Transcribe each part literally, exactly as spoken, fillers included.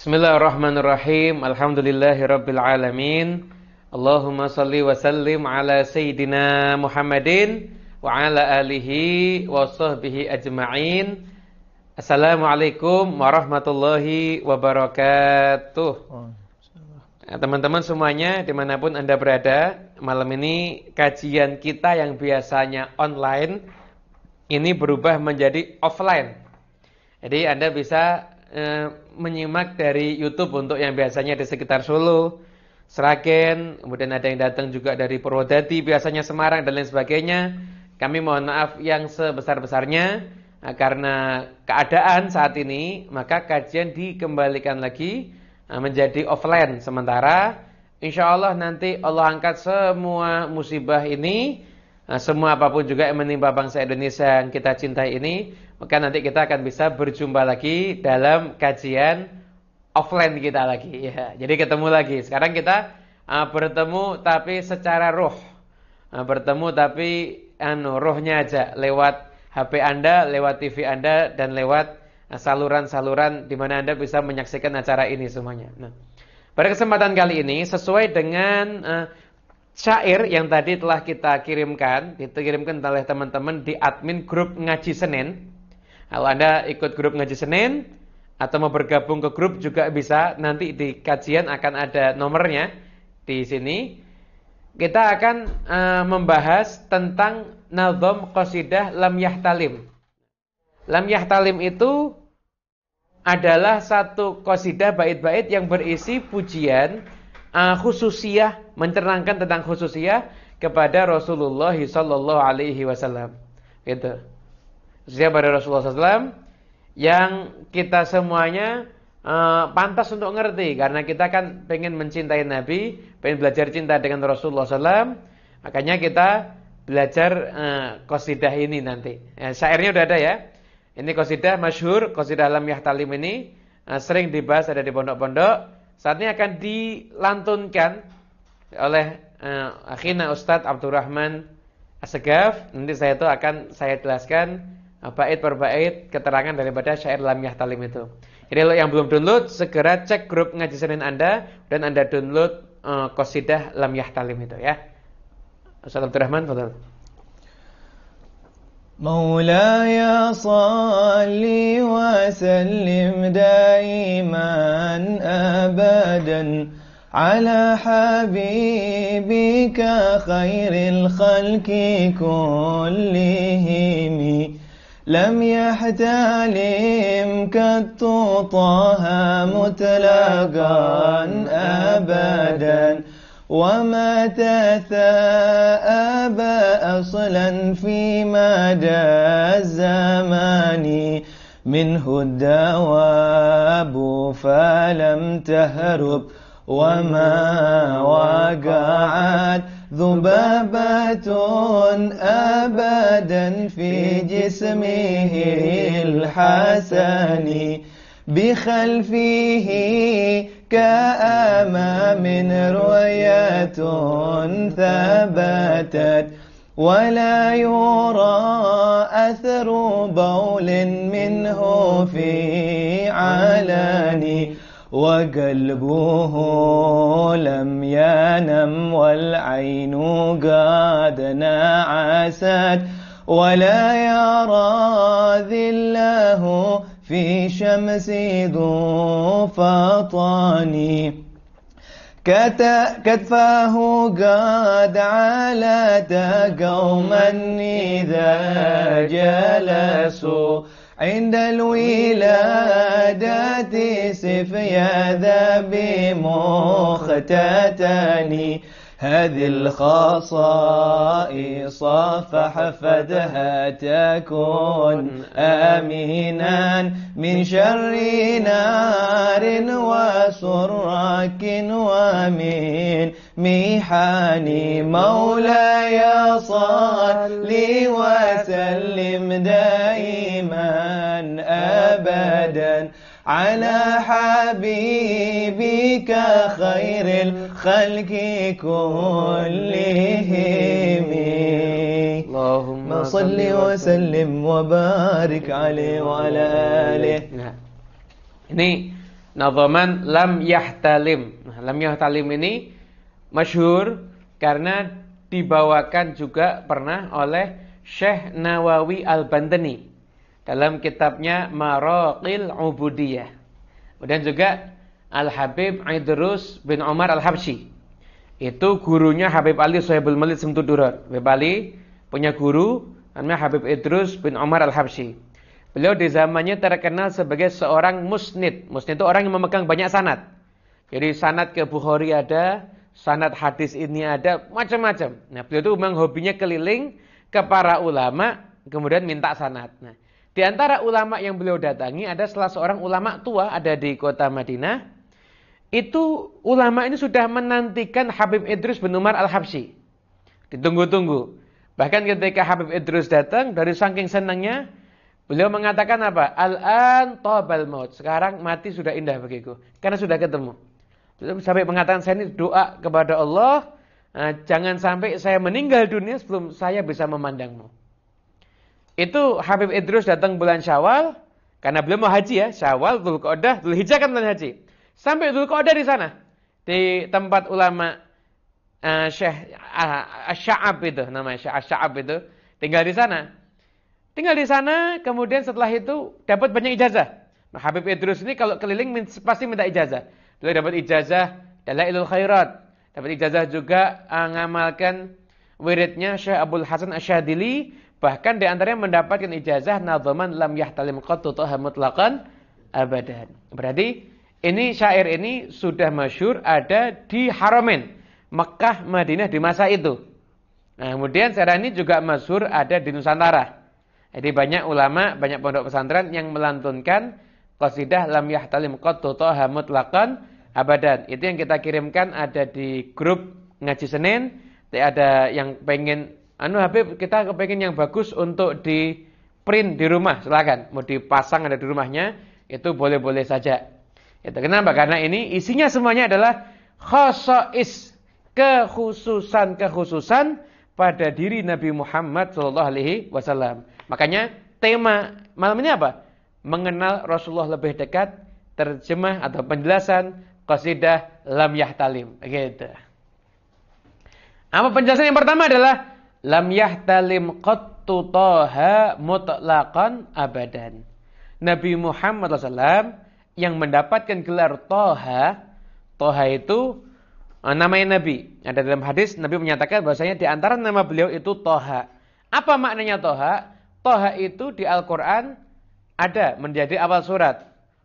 Bismillahirrahmanirrahim. Alhamdulillahirabbil alamin. Allahumma shalli wa sallim ala sayyidina Muhammadin wa ala alihi wa sahbihi ajma'in. Assalamualaikum warahmatullahi wabarakatuh. Teman-teman semuanya dimanapun Anda berada, malam ini kajian kita yang biasanya online ini berubah menjadi offline. Jadi Anda bisa e, menyimak dari YouTube untuk yang biasanya di sekitar Solo, Sragen, kemudian ada yang datang juga dari Purwodadi, biasanya Semarang dan lain sebagainya. Kami mohon maaf yang sebesar-besarnya nah, karena keadaan saat ini, maka kajian dikembalikan lagi nah, menjadi offline sementara. Insya Allah nanti Allah angkat semua musibah ini, nah, semua apapun juga yang menimpa bangsa Indonesia yang kita cintai ini, maka nanti kita akan bisa berjumpa lagi dalam kajian offline kita lagi ya. Jadi ketemu lagi. Sekarang kita uh, bertemu tapi secara roh. Uh, bertemu tapi anu rohnya aja lewat H P Anda, lewat T V Anda dan lewat uh, saluran-saluran di mana Anda bisa menyaksikan acara ini semuanya. Nah, pada kesempatan kali ini sesuai dengan uh, syair yang tadi telah kita kirimkan, dikirimkan oleh teman-teman di admin grup Ngaji Senin. Kalau Anda ikut grup Ngaji Senin atau mau bergabung ke grup juga bisa, nanti di kajian akan ada nomornya di sini. Kita akan uh, membahas tentang nazam qasidah Lam Yahtalim. Lam Yahtalim itu adalah satu qasidah bait-bait yang berisi pujian uh, khususiyah, mencerangkan tentang khususiyah kepada Rasulullah sallallahu alaihi wasallam. Gitu. Khususiyah pada Rasulullah sallallahu alaihi wasallam yang kita semuanya uh, pantas untuk ngerti karena kita kan pengen mencintai Nabi, pengen belajar cinta dengan Rasulullah sallallahu alaihi wasallam. Makanya kita belajar uh, qasidah ini nanti. Ya, syairnya udah ada ya. Ini qasidah masyhur, qasidah Lam Yahtalim ini uh, sering dibahas ada di pondok-pondok. Saat ini akan dilantunkan oleh uh, akhina Ustadz Abdurrahman Assegaf. Nanti saya itu akan saya jelaskan uh, bait per bait keterangan daripada syair Lam Yahtalim itu. Jadi kalau yang belum download segera cek grup Ngaji Senin Anda dan Anda download uh, qasidah Lam Yahtalim itu ya. Ustadz Abdurrahman, fadhal. مولاي صل وسلم دائما أبدا على حبيبك خير الخلق كلهم لم يحتلم قط طه مطلقا أبدا وما تثاءب أصلا في مدى الزمان منه الدواب فلم تهرب وما وقعت ذبابة أبدا في جسمه الحسن بخلفه كأمام رؤية ثبتت ولا يرى أثر بول منه في علاني وقلبه لم ينم والعين قد نعست ولا يرى ذله في شمس ذو فطاني كتفاه قد علت قوما إذا جلسوا عند الولادة سفيا ذا بمختتني هذه الخصائص فحفظها تكون آمنا من شر نار وسرك ومن محن مولاي صل وسلم دائما أبدا على حبيبك خير الخلق كلهم اللهم صل وسلم وبارك عليه وعلى آله. Nah, ini nadhaman lam yahtalim. Nah, lam yahtalim ini masyhur karena dibawakan juga pernah oleh Syekh Nawawi Al-Bantani dalam kitabnya Maraqil Ubudiyah. Kemudian juga Al-Habib Idrus bin Umar Al-Habsyi. Itu gurunya Habib Ali Sohibul Malid Simtudurar. Habib Ali punya guru namanya Habib Idrus bin Umar Al-Habsyi. Beliau di zamannya terkenal sebagai seorang musnid. Musnid itu orang yang memegang banyak sanad. Jadi sanad ke Bukhari ada, sanad hadis ini ada, macam-macam. Nah, beliau itu memang hobinya keliling ke para ulama, kemudian minta sanad. Nah, di antara ulama yang beliau datangi ada salah seorang ulama tua ada di kota Madinah. Itu ulama ini sudah menantikan Habib Idrus bin Umar Al-Habsyi. Ditunggu-tunggu. Bahkan ketika Habib Idrus datang, dari saking senangnya, beliau mengatakan apa? Al-an tabal maut. Sekarang mati sudah indah bagiku. Karena sudah ketemu. Sampai mengatakan saya ini doa kepada Allah. Nah, jangan sampai saya meninggal dunia sebelum saya bisa memandangmu. Itu Habib Idrus datang bulan Syawal. Karena beliau mau haji ya. Syawal, Dzulqa'dah, Dzulhijjah kan bulan haji. Sampai Dzulqa'dah di sana. Di tempat ulama uh, Syekh uh, Asy'ab itu. Namanya Syekh Asy'ab itu. Tinggal di sana. Tinggal di sana, kemudian setelah itu dapat banyak ijazah. Nah, Habib Idrus ini kalau keliling pasti minta ijazah. Beliau dapat ijazah Dalailul Khairat. Dapat ijazah juga uh, ngamalkan wiridnya Syekh Abdul Hasan Asyadili. Bahkan di antaranya mendapatkan ijazah nadhaman lam yahtalim qattu taha mutlaqan abadan. Berarti ini syair ini sudah masyhur ada di Haramain, Mekkah, Madinah di masa itu. Nah, kemudian sekarang ini juga masyhur ada di Nusantara. Jadi banyak ulama, banyak pondok pesantren yang melantunkan qasidah lam yahtalim qattu taha mutlaqan abadan. Itu yang kita kirimkan ada di grup ngaji Senin. Ada yang pengen anu Habib, kita kepengen yang bagus untuk di print di rumah, silakan. Mau dipasang ada di rumahnya, itu boleh-boleh saja. Itu kenapa? Karena ini isinya semuanya adalah khosais, kekhususan-kekhususan pada diri Nabi Muhammad shallallahu alaihi wasallam. Makanya tema malam ini apa? Mengenal Rasulullah lebih dekat, terjemah atau penjelasan qasidah lam yahtalim. Gitu. Apa penjelasan yang pertama adalah lam yahtalim qattu taha mutlaqan abadan. Nabi Muhammad shallallahu alaihi wasallam yang mendapatkan gelar Toha. Toha itu namanya Nabi. Ada dalam hadis Nabi menyatakan bahwasanya di antara nama beliau itu Toha. Apa maknanya Toha? Toha itu di Al-Quran ada menjadi awal surat.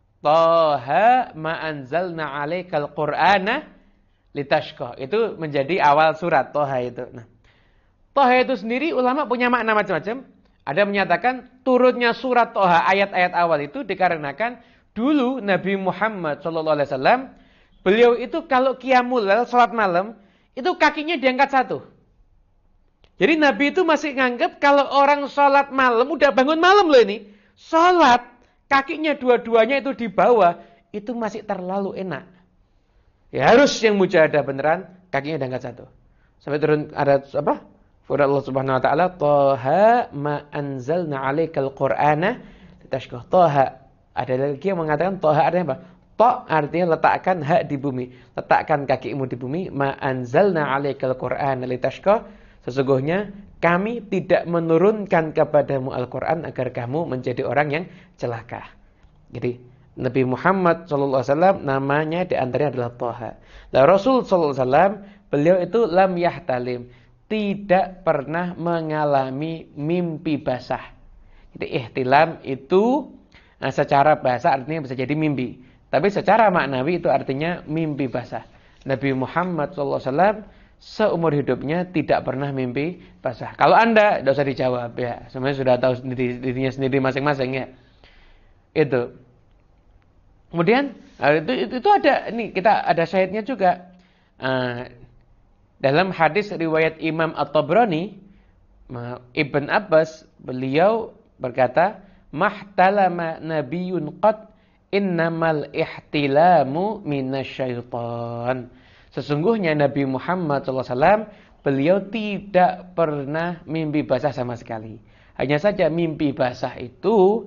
Toha ma anzalna alaikal qur'ana litashqa. Itu menjadi awal surat Toha itu. Nah, Toha itu sendiri ulama punya makna macam-macam. Ada menyatakan turunnya surat Toha ayat-ayat awal itu dikarenakan dulu Nabi Muhammad shallallahu alaihi wasallam beliau itu kalau qiyamul lail salat malam itu kakinya diangkat satu. Jadi Nabi itu masih nganggap kalau orang salat malam udah bangun malam loh ini, salat kakinya dua-duanya itu di bawah itu masih terlalu enak. Ya harus yang mujahadah beneran kakinya diangkat satu. Sampai turun ada apa? Firman Allah Subhanahu wa taala, "Toha ma anzalna 'alaikal qur'ana litashqa." Toha. Ada lagi yang mengatakan toha artinya apa? To artinya letakkan hak di bumi. Letakkan kakimu di bumi. Ma anzalna 'alaikal qur'ana litashqa. Sesungguhnya kami tidak menurunkan kepadamu Al-Quran agar kamu menjadi orang yang celaka. Jadi Nabi Muhammad shallallahu alaihi wasallam namanya di antaranya adalah Toha. Nah, Rasul shallallahu alaihi wasallam beliau itu lam yahtalim, tidak pernah mengalami mimpi basah. Jadi ihtilam itu nah, secara bahasa artinya bisa jadi mimpi. Tapi secara maknawi itu artinya mimpi basah. Nabi Muhammad shallallahu alaihi wasallam seumur hidupnya tidak pernah mimpi basah. Kalau Anda tidak usah dijawab ya. Semuanya sudah tahu sendiri, dirinya sendiri masing-masing ya. Itu. Kemudian itu, itu, itu ada ini kita ada syahidnya juga. Uh, dalam hadis riwayat Imam At-Tabrani, Ibn Abbas beliau berkata, "Mahtalama nabiyyun qad innamal ihtilamu minasyaitan." Sesungguhnya Nabi Muhammad shallallahu alaihi wasallam beliau tidak pernah mimpi basah sama sekali. Hanya saja mimpi basah itu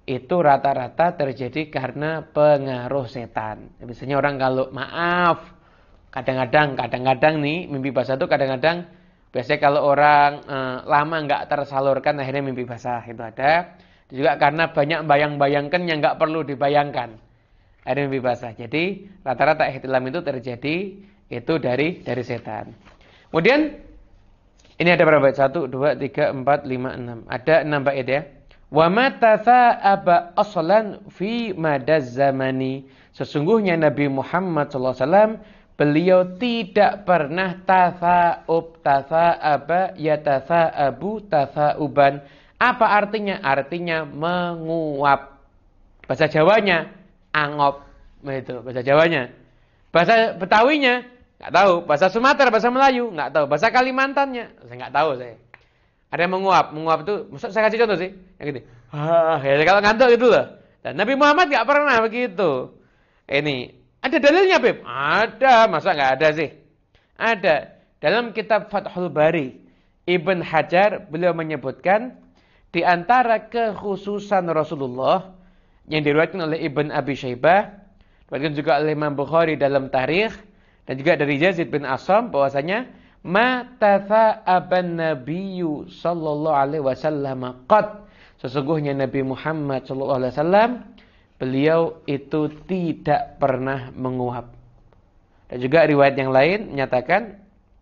itu rata-rata terjadi karena pengaruh setan. Biasanya orang kalau maaf, kadang-kadang, kadang-kadang nih mimpi basah itu kadang-kadang biasanya kalau orang eh, lama nggak tersalurkan akhirnya mimpi basah itu ada. Juga karena banyak bayang-bayangkan yang nggak perlu dibayangkan. Akhirnya mimpi basah. Jadi rata-rata ihtilam itu terjadi itu dari dari setan. Kemudian ini ada berapa bait? satu, dua, tiga, empat, lima, enam. Ada enam bait ya. Wa ma tatha'aba aslan fi madaz zamani. Sesungguhnya Nabi Muhammad sallallahu alaihi wasallam beliau tidak pernah tatha'ub, tatha'aba, yatatha'abu, tatha'uban. Apa artinya? Artinya menguap. Bahasa Jawanya angop. Itu bahasa Jawanya. Bahasa Betawinya enggak tahu. Bahasa Sumatera, bahasa Melayu enggak tahu. Bahasa Kalimantannya saya enggak tahu saya. Ada yang menguap. Menguap itu, saya kasih contoh sih. Yang gitu. Ah, ya kalau ngantuk gitu loh. Dan Nabi Muhammad enggak pernah begitu. Ini ada dalilnya, Beb? Ada, masa enggak ada sih? Ada. Dalam kitab Fathul Bari, Ibn Hajar beliau menyebutkan di antara kekhususan Rasulullah yang diriwayatkan oleh Ibn Abi Syaibah, diriwayatkan juga oleh Imam Bukhari dalam Tarikh dan juga dari Yazid bin Asham bahwasanya ma tatha'aban nabiyyu sallallahu alaihi wasallam qad. Sesungguhnya Nabi Muhammad sallallahu alaihi wasallam beliau itu tidak pernah menguap. Dan juga riwayat yang lain menyatakan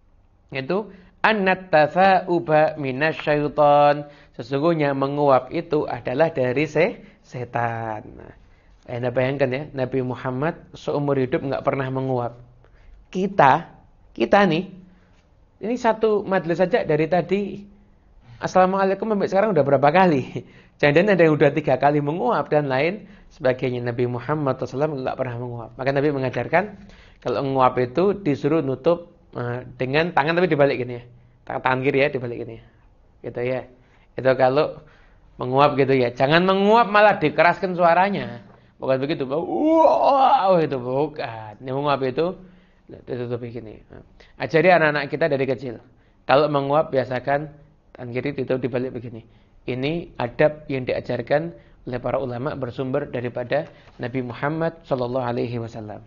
itu annat tatha'uba minasyaiton. Sesungguhnya menguap itu adalah dari se setan. Nah, Anda bayangkan ya, Nabi Muhammad seumur hidup enggak pernah menguap. Kita, kita nih ini satu majelis saja dari tadi Assalamualaikum sampai sekarang udah berapa kali? Jangan-jangan ada yang udah tiga kali menguap dan lain sebagainya. Nabi Muhammad sallallahu alaihi wasallam enggak pernah menguap. Maka Nabi mengajarkan kalau menguap itu disuruh nutup uh, dengan tangan tapi dibalik gini ya. Tangan, tangan kiri ya dibalik gini. Gitu ya. Itu kalau menguap gitu ya. Jangan menguap malah dikeraskan suaranya. Bukan begitu. Wow, itu bukan. Yang menguap itu ditutup begini. Ajari anak-anak kita dari kecil. Kalau menguap biasakan tangan kiri ditutup dibalik begini. Ini adab yang diajarkan oleh para ulama bersumber daripada Nabi Muhammad sallallahu alaihi wasallam.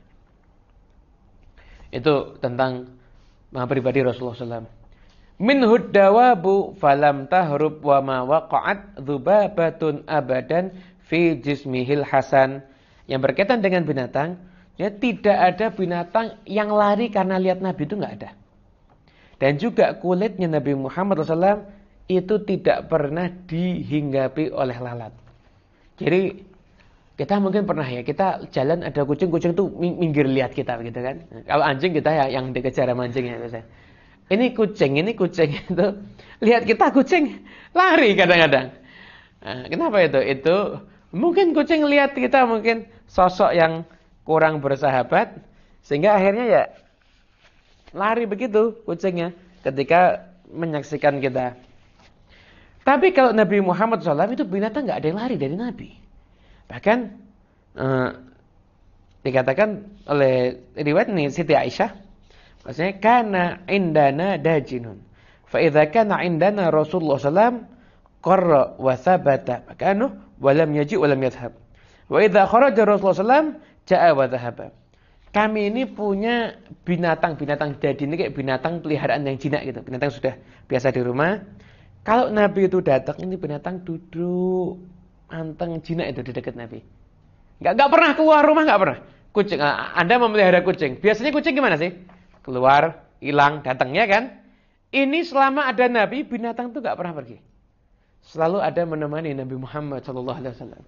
Itu tentang pribadi Rasulullah sallallahu alaihi wasallam. Minhud dawabu falam tahrub wa ma waqa'at dzubabatun abadan fi jismihil hasan. Yang berkaitan dengan binatang, ya tidak ada binatang yang lari karena lihat Nabi, itu enggak ada. Dan juga kulitnya Nabi Muhammad sallallahu alaihi wasallam itu tidak pernah dihinggapi oleh lalat. Jadi kita mungkin pernah ya, kita jalan ada kucing, kucing tuh minggir lihat kita begitu kan. Kalau anjing kita ya yang dikejar sama anjingnya biasanya. Ini kucing, ini kucing itu lihat kita kucing lari kadang-kadang. Nah, kenapa itu? Itu mungkin kucing lihat kita mungkin sosok yang kurang bersahabat sehingga akhirnya ya lari begitu kucingnya ketika menyaksikan kita. Tapi kalau Nabi Muhammad shallallahu alaihi wasallam itu binatang nggak ada yang lari dari Nabi. Bahkan eh, dikatakan oleh riwayat ini Siti Aisyah, maksudnya kana indana dajinun. Fa idza kana indana Rasulullah sallallahu alaihi wasallam qarra wa thabata makanu wa lam yaji wa lam yadhhab. Wa idza kharaja Rasulullah sallallahu alaihi wasallam jaa wa dhahaba. Kami ini punya binatang-binatang dadi ini kayak binatang peliharaan yang jinak gitu. Binatang sudah biasa di rumah. Kalau Nabi itu datang ini binatang duduk anteng jinak itu di dekat Nabi. Enggak enggak pernah keluar rumah, enggak pernah. Kucing, Anda memelihara kucing. Biasanya kucing gimana sih? Keluar, hilang, datang ya kan? Ini selama ada Nabi, binatang itu enggak pernah pergi. Selalu ada menemani Nabi Muhammad sallallahu alaihi wasallam.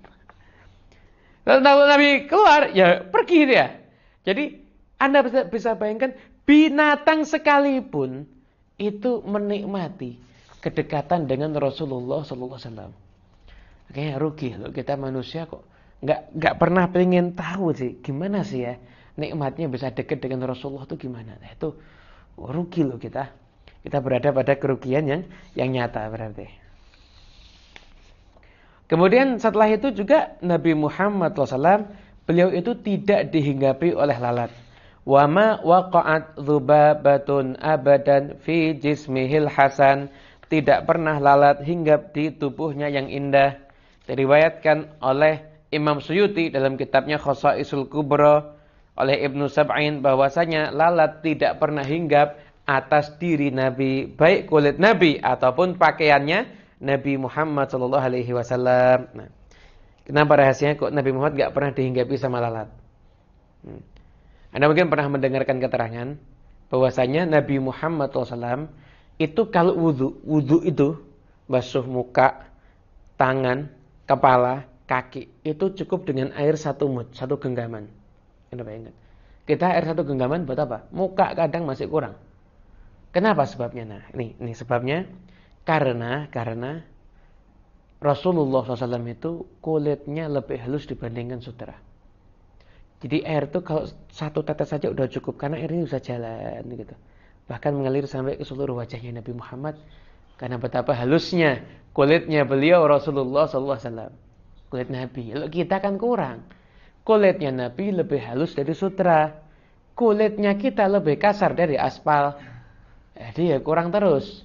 Lalu Nabi keluar, ya pergi dia. Jadi Anda bisa, bisa bayangkan binatang sekalipun itu menikmati kedekatan dengan Rasulullah sallallahu alaihi wasallam. Kayaknya rugi loh kita manusia kok nggak nggak pernah pengen tahu sih gimana sih ya nikmatnya bisa dekat dengan Rasulullah itu gimana. Nah, itu rugi loh kita. Kita berada pada kerugian yang yang nyata berarti. Kemudian setelah itu juga Nabi Muhammad sallallahu alaihi wasallam beliau itu tidak dihinggapi oleh lalat. Wa ma waqa'at dzubabatun abadan fi jismihil hasan. Tidak pernah lalat hinggap di tubuhnya yang indah. Diriwayatkan oleh Imam Suyuti dalam kitabnya Khosaisul Kubra, oleh Ibnu Sab'in bahwasanya lalat tidak pernah hinggap atas diri Nabi, baik kulit Nabi ataupun pakaiannya Nabi Muhammad sallallahu alaihi wasallam. Nah, kenapa rahasianya kok Nabi Muhammad enggak pernah dihinggapi sama lalat? Hmm. Anda mungkin pernah mendengarkan keterangan bahwasanya Nabi Muhammad sallallahu alaihi wasallam itu kalau wudu, wudu itu basuh muka, tangan, kepala, kaki, itu cukup dengan air satu mud, satu genggaman. Anda bayangkan. Kita air satu genggaman buat apa? Muka kadang masih kurang. Kenapa sebabnya? Nah, ini, ini sebabnya. Karena, karena Rasulullah shallallahu alaihi wasallam itu kulitnya lebih halus dibandingkan sutera. Jadi air itu kalau satu tetes saja udah cukup, karena air ini bisa jalan gitu. Bahkan mengalir sampai ke seluruh wajahnya Nabi Muhammad. Karena betapa halusnya kulitnya beliau Rasulullah shallallahu alaihi wasallam. Kulit Nabi. Kalau kita kan kurang. Kulitnya Nabi lebih halus dari sutera. Kulitnya kita lebih kasar dari aspal. Jadi ya kurang terus.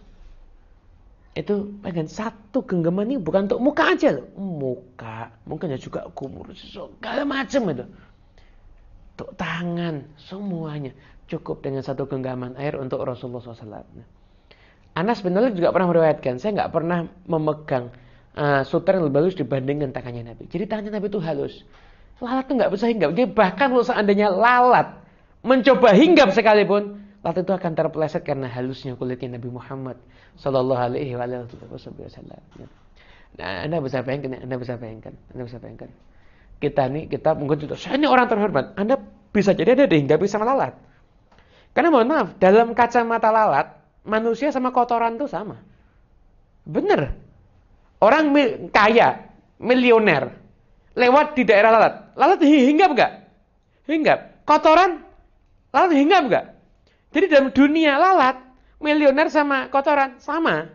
Itu pengen satu genggaman ini bukan untuk muka aja loh. Muka. Mungkin juga kumur. Segala macam itu. Untuk tangan. Semuanya. Cukup dengan satu genggaman air untuk Rasulullah shallallahu alaihi wasallam. Nah, Anas bin Malik juga pernah meriwayatkan. Saya nggak pernah memegang uh, sutra yang lebih halus dibandingkan tangannya Nabi. Jadi tangannya Nabi itu halus. Lalat itu nggak bisa hinggap. Jadi bahkan kalau seandainya lalat mencoba hinggap sekalipun, lalat itu akan terpeleset karena halusnya kulitnya Nabi Muhammad Sallallahu Alaihi Wasallam. Nah, Anda bisa bayangkan, Anda bisa bayangkan, Anda bisa bayangkan. Kita nih, kita mungkin juga, saya ini orang terhormat. Anda bisa jadi ada dihinggapi sama lalat. Karena mohon maaf, dalam kacamata lalat, manusia sama kotoran itu sama. Bener. Orang mi- kaya, milioner, lewat di daerah lalat. Lalat hinggap enggak? Hinggap. Kotoran, lalat hinggap enggak? Jadi dalam dunia lalat, milioner sama kotoran sama.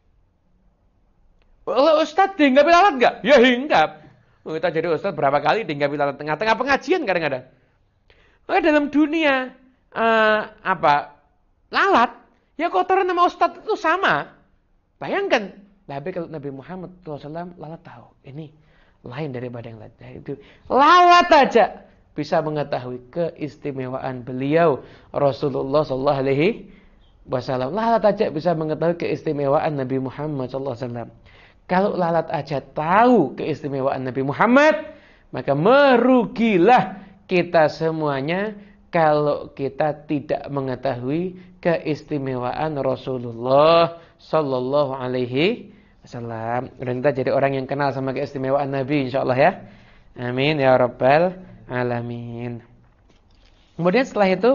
Kalau Ustadz dihinggapi lalat enggak? Ya hinggap. Kita jadi Ustadz berapa kali dihinggapi lalat tengah-tengah pengajian kadang-kadang. Maka dalam dunia uh, apa lalat, ya kotoran sama Ustadz itu sama. Bayangkan, tapi kalau Nabi Muhammad shallallahu alaihi wasallam lalat tahu ini lain daripada yang lain. Itu lalat aja bisa mengetahui keistimewaan beliau Rasulullah shallallahu alaihi wasallam. Lalat aja bisa mengetahui keistimewaan Nabi Muhammad shallallahu alaihi wasallam. Kalau lalat aja tahu keistimewaan Nabi Muhammad, maka merugilah kita semuanya kalau kita tidak mengetahui keistimewaan Rasulullah Sallallahu Alaihi Wasallam. Dan kita jadi orang yang kenal sama keistimewaan Nabi, insyaallah ya. Amin ya rabbal alamin. Kemudian setelah itu,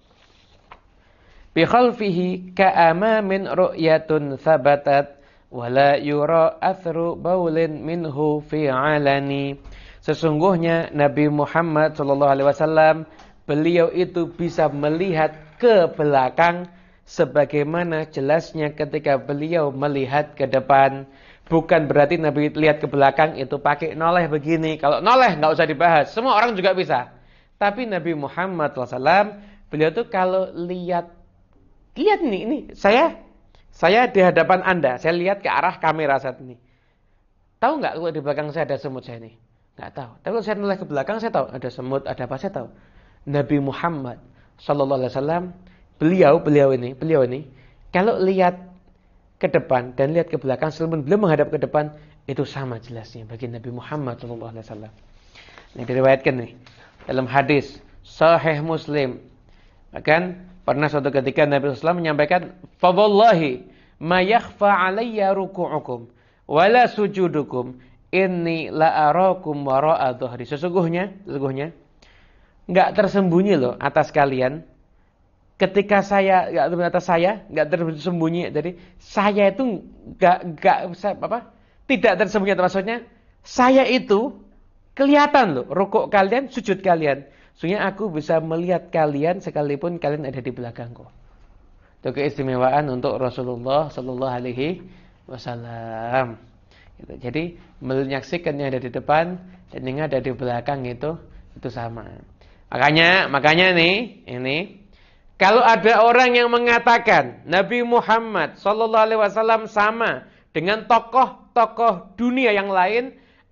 bi khalfihi ka'amamin ru'yatun thabatat wala yura athru baulin minhu fi alani. Sesungguhnya Nabi Muhammad sallallahu alaihi wasallam, beliau itu bisa melihat ke belakang sebagaimana jelasnya ketika beliau melihat ke depan. Bukan berarti Nabi lihat ke belakang itu pakai noleh begini. Kalau noleh nggak usah dibahas, semua orang juga bisa. Tapi Nabi Muhammad sallallahu alaihi wasallam, beliau tuh kalau lihat, lihat nih, ini saya Saya di hadapan Anda, saya lihat ke arah kamera saat ini. Tahu nggak kalau di belakang saya ada semut saya ini? Nggak tahu. Tapi kalau saya noleh ke belakang, saya tahu ada semut, ada apa, saya tahu. Nabi Muhammad Sallallahu Alaihi Wasallam, beliau, beliau ini, beliau ini, kalau lihat ke depan dan lihat ke belakang, sebelum beliau menghadap ke depan, itu sama jelasnya bagi Nabi Muhammad Sallallahu Alaihi Wasallam. Ini diriwayatkan nih dalam hadis Sahih Muslim. Bahkan pernah suatu ketika Nabi sallallahu alaihi wasallam menyampaikan, "Fawallahi ma yakhfa 'alayya ruku'ukum wa la sujudukum inni la arakum wara'a dhahri." Sesungguhnya, sesungguhnya enggak tersembunyi loh atas kalian ketika saya enggak atas saya, enggak tersembunyi dari saya itu enggak enggak apa? Tidak tersembunyi, maksudnya saya itu kelihatan loh rukuk kalian, sujud kalian. Sehingga aku bisa melihat kalian sekalipun kalian ada di belakangku. Itu keistimewaan untuk Rasulullah Sallallahu Alaihi Wasallam. Jadi menyaksikan yang ada di depan dan yang ada di belakang itu itu sama. Makanya, makanya nih, ini kalau ada orang yang mengatakan Nabi Muhammad Sallallahu Alaihi Wasallam sama dengan tokoh-tokoh dunia yang lain,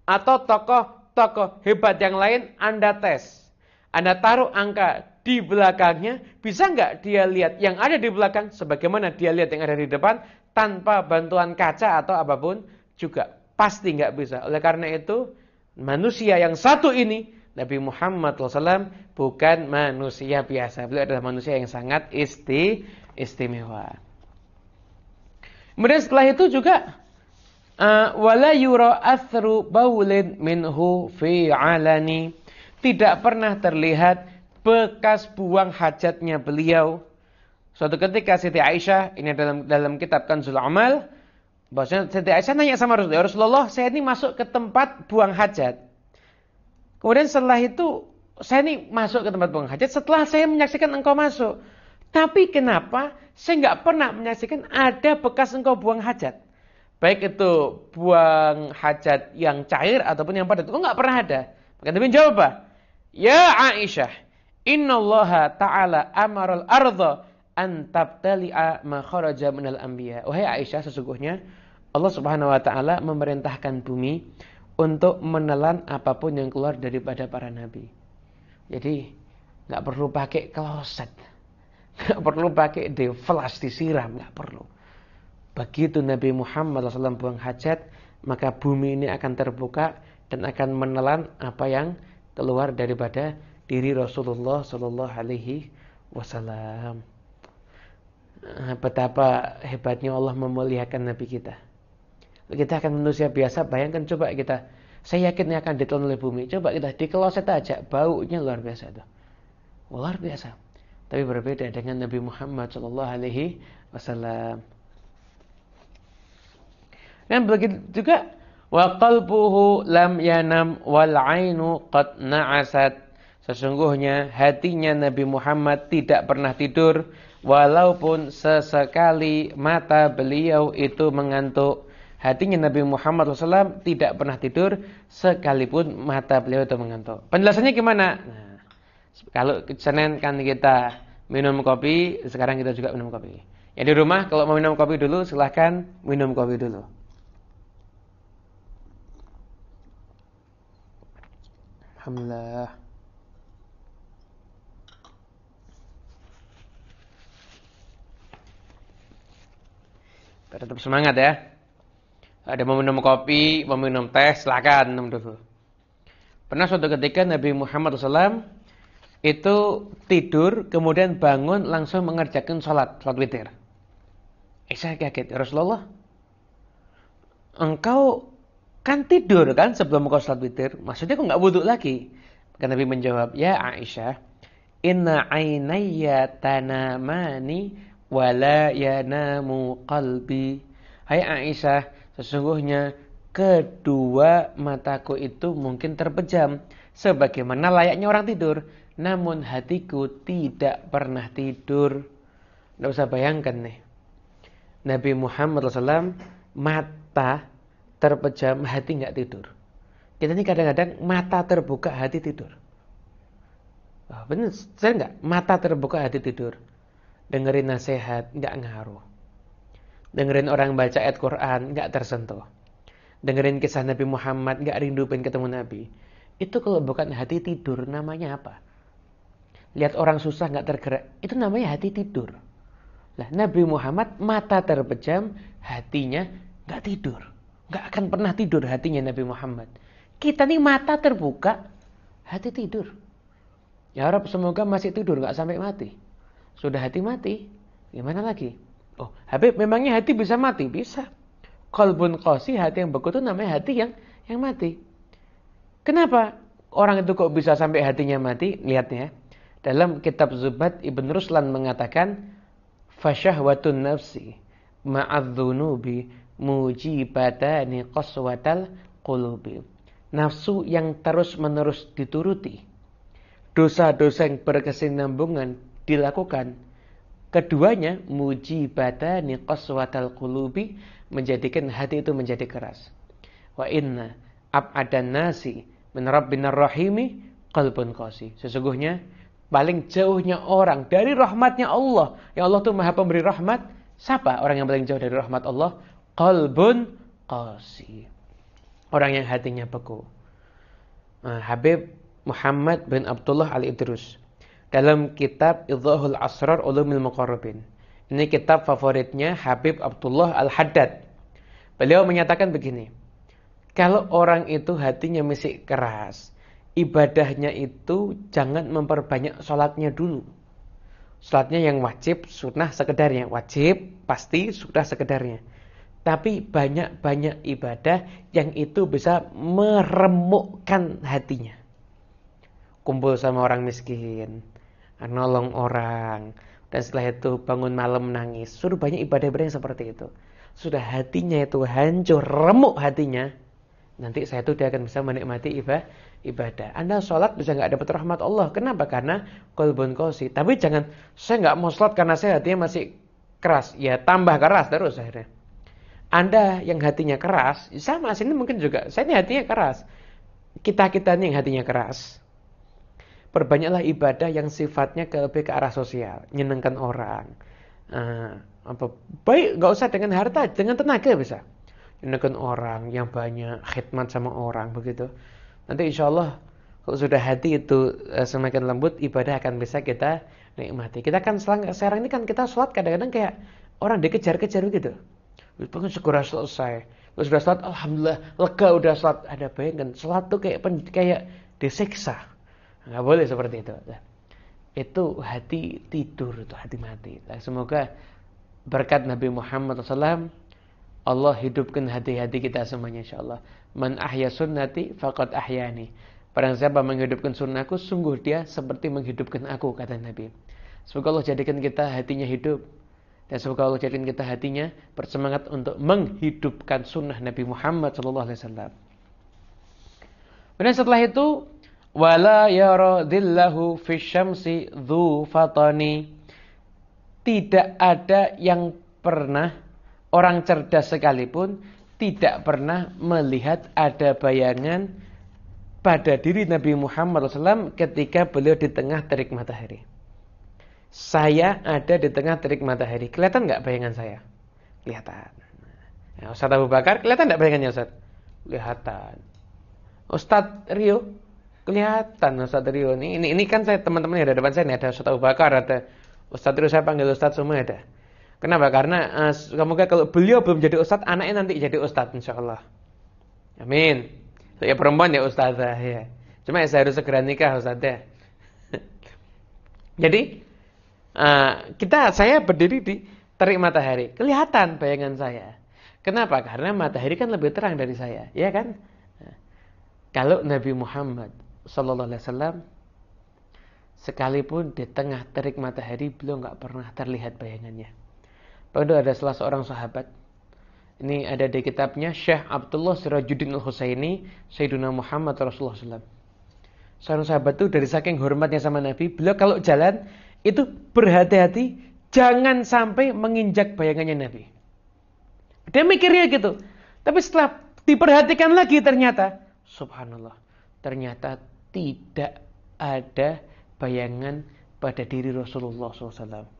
atau tokoh-tokoh hebat yang lain Anda tes. Anda taruh angka di belakangnya, bisa nggak dia lihat yang ada di belakang sebagaimana dia lihat yang ada di depan tanpa bantuan kaca atau apapun juga? Pasti nggak bisa. Oleh karena itu, manusia yang satu ini, Nabi Muhammad shallallahu alaihi wasallam, bukan manusia biasa. Beliau adalah manusia yang sangat isti, istimewa. Kemudian setelah itu juga uh, wala yura athru baulin minhu fi alani. Tidak pernah terlihat bekas buang hajatnya beliau. Suatu ketika Siti Aisyah, ini dalam dalam kitab Kanzul Amal, bahwasanya Siti Aisyah nanya sama Rasulullah, Rasulullah, saya ini masuk ke tempat buang hajat. Kemudian setelah itu saya ini masuk ke tempat buang hajat setelah saya menyaksikan engkau masuk. Tapi kenapa saya nggak pernah menyaksikan ada bekas engkau buang hajat? Baik itu buang hajat yang cair ataupun yang padat. Kok nggak pernah ada? Maka Nabi jawab apa? Ya Aisyah, innallaha ta'ala amaral arda an tabtali'a ma kharaja minal anbiya. Wahai Aisyah, sesungguhnya Allah Subhanahu wa taala memerintahkan bumi untuk menelan apapun yang keluar daripada para nabi. Jadi nggak perlu pakai kloset. Nggak perlu pakai deflas disiram, nggak perlu. Begitu Nabi Muhammad shallallahu alaihi wasallam buang hajat, maka bumi ini akan terbuka dan akan menelan apa yang keluar daripada diri Rasulullah shallallahu alaihi wasallam. Betapa hebatnya Allah memuliakan Nabi kita. Kita akan manusia biasa, bayangkan coba kita. Saya yakin akan ditelan oleh bumi. Coba kita di kloset aja, baunya luar biasa itu. Luar biasa. Tapi berbeda dengan Nabi Muhammad shallallahu alaihi wasallam. Dan begitu juga wa qalbuhu lam yanam wal ainu qad na'asat. Sesungguhnya hatinya Nabi Muhammad tidak pernah tidur walaupun sesekali mata beliau itu mengantuk. Hatinya Nabi Muhammad shallallahu alaihi wasallam tidak pernah tidur sekalipun mata beliau itu mengantuk. Penjelasannya gimana? Nah, kalau Senin kan kita minum kopi, sekarang kita juga minum kopi. Ya di rumah kalau mau minum kopi dulu silahkan minum kopi dulu. Alhamdulillah. Tetap semangat ya. Ada mau minum kopi, mau minum teh, silakan minum dulu. Pernah suatu ketika Nabi Muhammad shallallahu alaihi wasallam itu tidur, kemudian bangun langsung mengerjakan sholat, sholat witir. Eh, saya kaget, ya Rasulullah, engkau kan tidur kan sebelum engkau sholat witir, maksudnya kok nggak wudhu lagi? Maka Nabi menjawab, ya Aisyah, inna ainayya tanamani wala yanamu qalbi. Hai Aisyah, sesungguhnya kedua mataku itu mungkin terpejam sebagaimana layaknya orang tidur, namun hatiku tidak pernah tidur. Tidak usah bayangkan nih, Nabi Muhammad shallallahu alaihi wasallam mata terpejam, hati nggak tidur. Kita ini kadang-kadang mata terbuka, hati tidur. Oh, benar, saya nggak mata terbuka, hati tidur. Dengerin nasihat nggak ngaruh. Dengerin orang baca ayat Quran nggak tersentuh. Dengerin kisah Nabi Muhammad nggak rindu pengen ketemu Nabi. Itu kalau bukan hati tidur, namanya apa? Lihat orang susah nggak tergerak, itu namanya hati tidur. Nah, Nabi Muhammad mata terpejam, hatinya nggak tidur, nggak akan pernah tidur hatinya Nabi Muhammad. Kita nih mata terbuka, hati tidur. Ya Rabb, semoga masih tidur, nggak sampai mati. Sudah hati mati, gimana lagi? Oh, Habib, memangnya hati bisa mati? Bisa. Qalbun qasi, hati yang beku itu namanya hati yang yang mati. Kenapa orang itu kok bisa sampai hatinya mati? Lihatnya. Dalam kitab Zubat, Ibn Ruslan mengatakan, fasyahwatun nafsi ma'adzunubi mujibatani qaswatal qulubi. Nafsu yang terus-menerus dituruti, dosa-dosa yang berkesinambungan dilakukan, keduanya mujibatani qaswatal qulubi, menjadikan hati itu menjadi keras. Wa inna ab'adan nasi min rabbinar rahimi qalbun qasi. Sesungguhnya paling jauhnya orang dari rahmatnya Allah, yang Allah itu maha pemberi rahmat. Siapa orang yang paling jauh dari rahmat Allah? Qalbun qasi. orang yang hatinya beku. Nah, Habib Muhammad bin Abdullah Al-Idrus dalam kitab Idhahul Asrar Ulumil Muqarrabin. Ini kitab favoritnya Habib Abdullah Al-Haddad. Beliau menyatakan begini, kalau orang itu hatinya masih keras, ibadahnya itu jangan memperbanyak sholatnya dulu. Sholatnya yang wajib, sunnah sekedarnya. Wajib, pasti, sunnah sekedarnya. Tapi banyak-banyak ibadah yang itu bisa meremukkan hatinya. Kumpul sama orang miskin, nolong orang, dan setelah itu bangun malam nangis. Sudah banyak ibadah-ibadah yang seperti itu. Sudah hatinya itu hancur, remuk hatinya. Nanti saya itu dia akan bisa menikmati ibadah. Anda sholat bisa nggak dapat rahmat Allah. Kenapa? Karena qalbun qasi. Tapi jangan, saya nggak mau sholat karena saya hatinya masih keras. Ya tambah keras terus akhirnya. Anda yang hatinya keras, sama sini mungkin juga. Saya ini hatinya keras. Kita-kita ini yang hatinya keras. Perbanyaklah ibadah yang sifatnya ke lebih ke arah sosial, nyenangkan orang. Uh, apa baik nggak usah dengan harta, dengan tenaga bisa. Nyenangkan orang yang banyak, khidmat sama orang begitu. Nanti insya Allah kalau sudah hati itu uh, semakin lembut, ibadah akan bisa kita nikmati. Kita kan sekarang ini kan kita sholat kadang-kadang kayak orang dikejar-kejar begitu. Pengen segera selesai. Kalau sudah sholat, alhamdulillah lega udah sholat. Ada bayangkan sholat tuh kayak kayak disiksa. Nggak boleh seperti itu. Itu hati tidur, itu hati mati. Semoga berkat Nabi Muhammad shallallahu alaihi wasallam Allah hidupkan hati-hati kita semuanya insyaallah. Man ahya sunnati faqad ahyani. Barang siapa menghidupkan sunnahku, sungguh dia seperti menghidupkan aku, kata Nabi. Semoga Allah jadikan kita hatinya hidup. Dan semoga Allah jadikan kita hatinya bersemangat untuk menghidupkan sunnah Nabi Muhammad shallallahu alaihi wasallam. Dan setelah itu, wala yaradillahu fisyamsi dzu fatani. Tidak ada yang pernah, orang cerdas sekalipun tidak pernah melihat ada bayangan pada diri Nabi Muhammad shallallahu alaihi wasallam ketika beliau di tengah terik matahari. Saya ada di tengah terik matahari. Kelihatan nggak bayangan saya? Kelihatan. Ya, Ustaz Abu Bakar, kelihatan nggak bayangannya Ustaz? Kelihatan. Ustaz Rio, kelihatan Ustaz Rio. Ini, ini, ini kan saya teman-teman yang ada depan saya. Ini ada Ustaz Abu Bakar, ada Ustaz Rio, saya panggil Ustaz semua ada. Kenapa? Karena uh, semoga kalau beliau belum jadi Ustaz, anaknya nanti jadi Ustaz insyaallah. Amin. Saya perempuan ya Ustazah ya. Cuma ya saya harus segera nikah Ustaz ya. Jadi Uh, kita saya berdiri di terik matahari, kelihatan bayangan saya. Kenapa? Karena matahari kan lebih terang dari saya, ya kan? Nah, kalau Nabi Muhammad Sallallahu Alaihi Wasallam sekalipun di tengah terik matahari beliau nggak pernah terlihat bayangannya. Padahal ada salah seorang sahabat. Ini ada di kitabnya Syekh Abdullah Sirajuddin Al-Husaini Sayyiduna Muhammad Rasulullah Sallallahu Alaihi Wasallam. Seorang sahabat itu dari saking hormatnya sama Nabi, beliau kalau jalan itu berhati-hati jangan sampai menginjak bayangannya Nabi. Dia mikirnya gitu. Tapi setelah diperhatikan lagi ternyata, subhanallah, ternyata tidak ada bayangan pada diri Rasulullah shallallahu alaihi wasallam.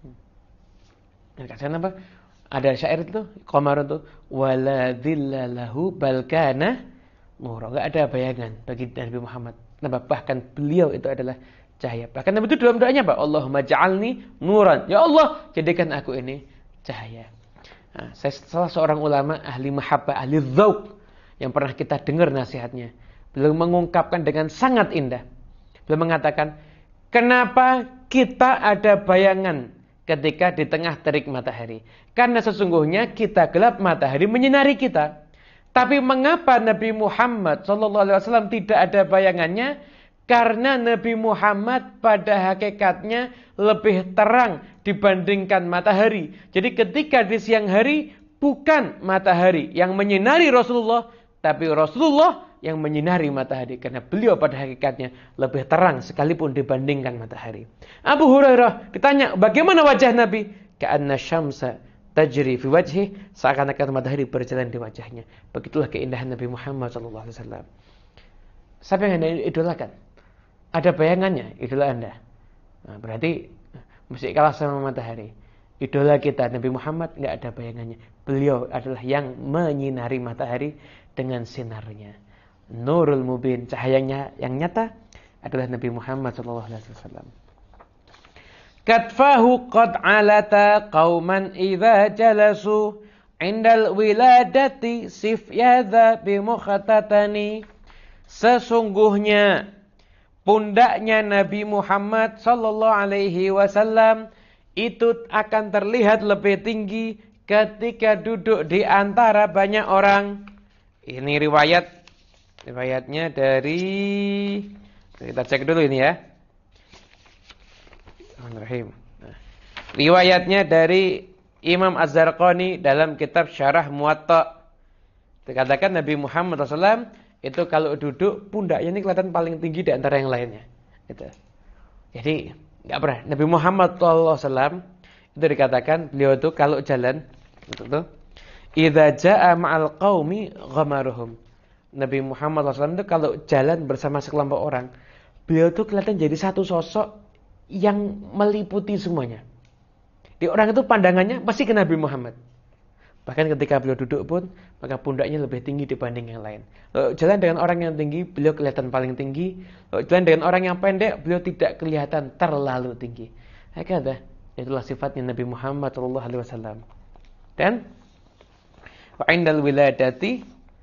Nah, kasihan apa? Ada syair itu, Qamar itu, wala dhillalahu balkana nura. Enggak ada bayangan bagi Nabi Muhammad. Nah, bahkan beliau itu adalah cahaya. Bahkan Nabi itu dalam doanya apa? Allahumma ja'alni nuran. Ya Allah, jadikan aku ini cahaya. Nah, saya salah seorang ulama ahli mahabbah, ahli dzauq yang pernah kita dengar nasihatnya. Beliau mengungkapkan dengan sangat indah. Beliau mengatakan, kenapa kita ada bayangan ketika di tengah terik matahari? Karena sesungguhnya kita gelap, matahari menyinari kita. Tapi mengapa Nabi Muhammad Sallallahu Alaihi Wasallam tidak ada bayangannya? Karena Nabi Muhammad pada hakikatnya lebih terang dibandingkan matahari. Jadi ketika di siang hari bukan matahari yang menyinari Rasulullah, tapi Rasulullah yang menyinari matahari. Karena beliau pada hakikatnya lebih terang sekalipun dibandingkan matahari. Abu Hurairah ditanya, bagaimana wajah Nabi? Ka'anna syamsa tajri fi wajhi, seakan-akan matahari berjalan di wajahnya. Begitulah keindahan Nabi Muhammad sallallahu alaihi wasallam. Siapa yang Anda idolakan? Ada bayangannya, idola Anda. Nah, berarti mesti kalah sama matahari. idola kita Nabi Muhammad nggak ada bayangannya. Beliau adalah yang menyinari matahari dengan sinarnya. Nurul Mubin, cahayanya yang nyata adalah Nabi Muhammad sallallahu alaihi wasallam. Katfahu qad alata qauman idza jalasu indal wiladati sif yadha bimukhatatani. Sesungguhnya pundaknya Nabi Muhammad sallallahu alaihi wasallam itu akan terlihat lebih tinggi ketika duduk di antara banyak orang. Ini riwayat riwayatnya dari, kita cek dulu ini ya. Bismillahirrahmanirrahim. Nah, riwayatnya dari Imam Az-Zarqani dalam kitab Syarah Muwatta. Dikatakan Nabi Muhammad sallallahu alaihi wasallam itu kalau duduk pundaknya ini kelihatan paling tinggi di antara yang lainnya. Gitu. Jadi enggak pernah Nabi Muhammad sallallahu alaihi wasallam itu dikatakan beliau itu kalau jalan itu idza jaa ma'al qaumi ghamaruhum. Nabi Muhammad sallallahu alaihi wasallam itu kalau jalan bersama sekelompok orang, beliau itu kelihatan jadi satu sosok yang meliputi semuanya. Di orang itu pandangannya pasti ke Nabi Muhammad. Bahkan ketika beliau duduk pun, maka pundaknya lebih tinggi dibanding yang lain. Lalu jalan dengan orang yang tinggi, beliau kelihatan paling tinggi. Lalu jalan dengan orang yang pendek, beliau tidak kelihatan terlalu tinggi. Hakada, itulah sifatnya Nabi Muhammad sallallahu alaihi wasallam. Dan wa indal wiladati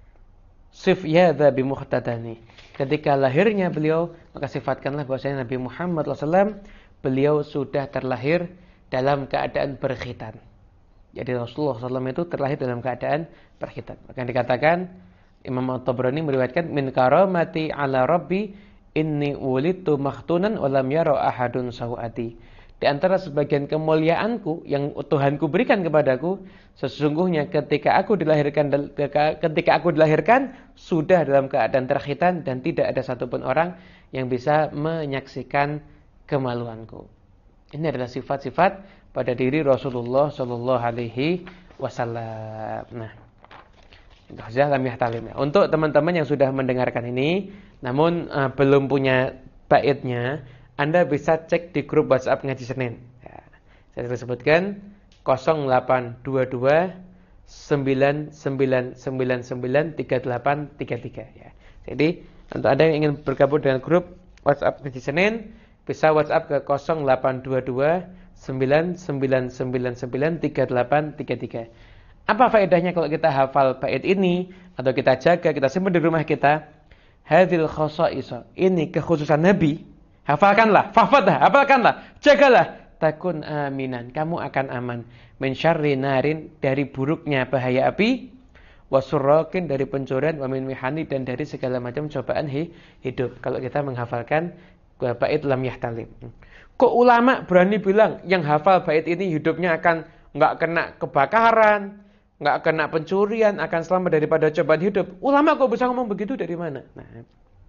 sif yadha bimuhtadani. Ketika lahirnya beliau, maka sifatkanlah bahwasanya Nabi Muhammad sallallahu alaihi wasallam beliau sudah terlahir dalam keadaan berkhitan. Jadi Rasulullah sallallahu alaihi wasallam itu terlahir dalam keadaan berkhitan. Maka dikatakan Imam At-Tabrani meriwayatkan min karamati ala rabbi inni wulidtu makhtunan wa lam yara ahadun sawati. Di antara sebagian kemuliaanku yang Tuhanku berikan kepadaku, sesungguhnya ketika aku dilahirkan ketika aku dilahirkan sudah dalam keadaan terkhitan dan tidak ada satupun orang yang bisa menyaksikan kemaluanku. Ini adalah sifat-sifat pada diri Rasulullah sallallahu alaihi wasallam. Nah, itu saja lam yahtalim. Untuk teman-teman yang sudah mendengarkan ini namun uh, belum punya baitnya, Anda bisa cek di grup WhatsApp Ngaji Senin. Ya, saya sebutkan nol delapan dua dua sembilan sembilan sembilan sembilan tiga delapan tiga tiga ya. Jadi, untuk Anda yang ingin bergabung dengan grup WhatsApp Ngaji Senin, bisa WhatsApp ke nol delapan dua dua sembilan sembilan sembilan sembilan tiga delapan tiga tiga. Apa faedahnya kalau kita hafal bait ini atau kita jaga, kita simpan di rumah kita? Hadzal khasa'is. Ini kekhususan Nabi. Hafalkanlah, fahfadha, hafalkanlah, jagalah. Takun aminan, kamu akan aman. Min syarri narin, dari buruknya bahaya api. Wasurrakin, dari pencurian. Wa min mihani, dan dari segala macam cobaan hidup. Kalau kita menghafalkan bait lam yahtalim. Kok ulama berani bilang yang hafal bait ini hidupnya akan enggak kena kebakaran, enggak kena pencurian, akan selamat daripada cobaan hidup? Ulama kok bisa ngomong begitu dari mana? Nah,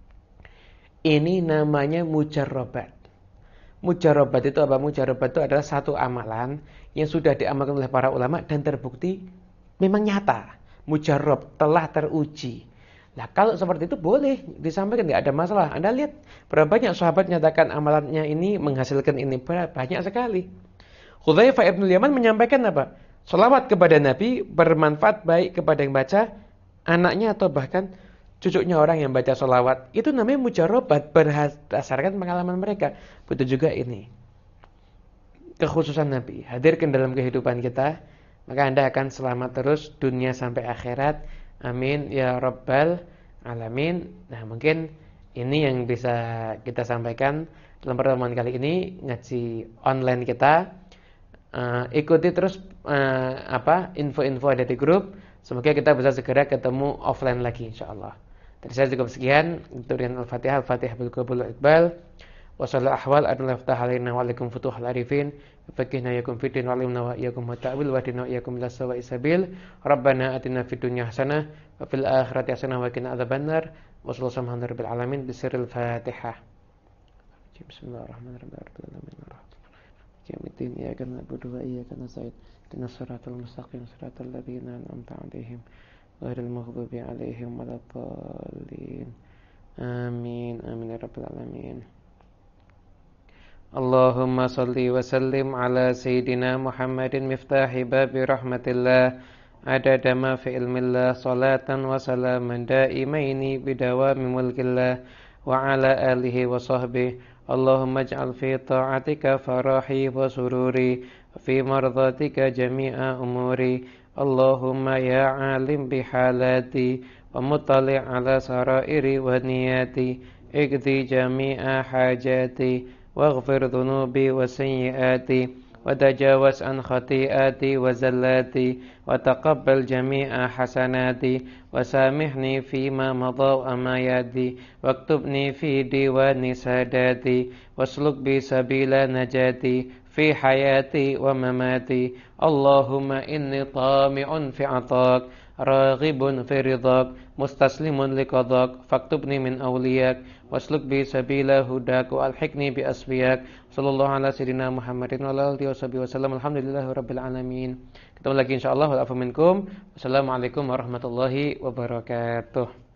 ini namanya mujarrabat. Mujarrabat itu apa? Mujarrabat itu adalah satu amalan yang sudah diamalkan oleh para ulama dan terbukti memang nyata. Mujarrab, telah teruji. Nah, kalau seperti itu boleh disampaikan, tidak ada masalah. Anda lihat berapa banyak sahabat nyatakan amalannya ini menghasilkan ini, banyak sekali. Hudzaifah ibn Yaman menyampaikan apa? Shalawat kepada Nabi bermanfaat baik kepada yang baca, anaknya atau bahkan cucunya orang yang baca sholawat. Itu namanya mujarrabat berdasarkan pengalaman mereka. Begitu juga ini. Kekhususan Nabi. Hadirkan dalam kehidupan kita. Maka Anda akan selamat terus dunia sampai akhirat. Amin. Ya Rabbal Alamin. Nah, mungkin ini yang bisa kita sampaikan dalam pertemuan kali ini. Ngaji online kita. Uh, ikuti terus uh, apa info-info ada di grup. Semoga kita bisa segera ketemu offline lagi insyaallah. Dari saya cukup sekian. Dengan Al-Fatihah, Al-Fatihah bil qabul wal iqbal. Wa sallallahu ahwal adna laftah alaina wa alaikum futuhal arifin. Fakihna yakum fiddin wa alimna wa iyyakum ta'wil wa dina iyyakum ila sawa'i sabil. Rabbana atina fid dunya hasanah wa fil akhirati hasanah wa qina adzabannar. Wa sallallahu alaihi rabbil alamin bisirril Fatihah. Bismillahirrahmanirrahim. Yaumiddin iyyaka na'budu wa iyyaka nasta'in. Ihdinas siratal mustaqim siratal ladzina an'amta 'alaihim ghairil maghdubi 'alaihim waladdallin. Amin amin ya rabbal alamin. Allahumma salli wa sallim ala Sayyidina Muhammadin miftahi babi rahmatillah adada ma fi ilmillah salatan wa salaman daimaini bidawami mulkillah wa ala alihi wa sahbihi. Allahumma ij'al fi ta'atika farahi wa sururi wa fi mardatika jami'a umuri. Allahumma ya alim bihalati wa muttali' ala sarairi wa niyati iqdi jami'a hajati waghfir dhunubi wa sayyiati wa tajawaz an khati'ati wa zallati wa taqabbal jami'a hasanati wa samihni fima madha wa ma yadi waktubni fi diwani sadati wasluk bi sabila najati fi hayati wa mamati. Allahumma inni tami'un fi atak raghibun fi ridak mustaslimun liqadak faktubni min awliyak wasluk bi sabila hudak wa alhiqni bi asfiyak. Sallallahu ala sayyidina Muhammadin wa ala alihi wasallam. Alhamdulillahi rabbil alamin. Ketemu lagi insyaallah. Wa afu minkum. Wassalamualaikum warahmatullahi wabarakatuh.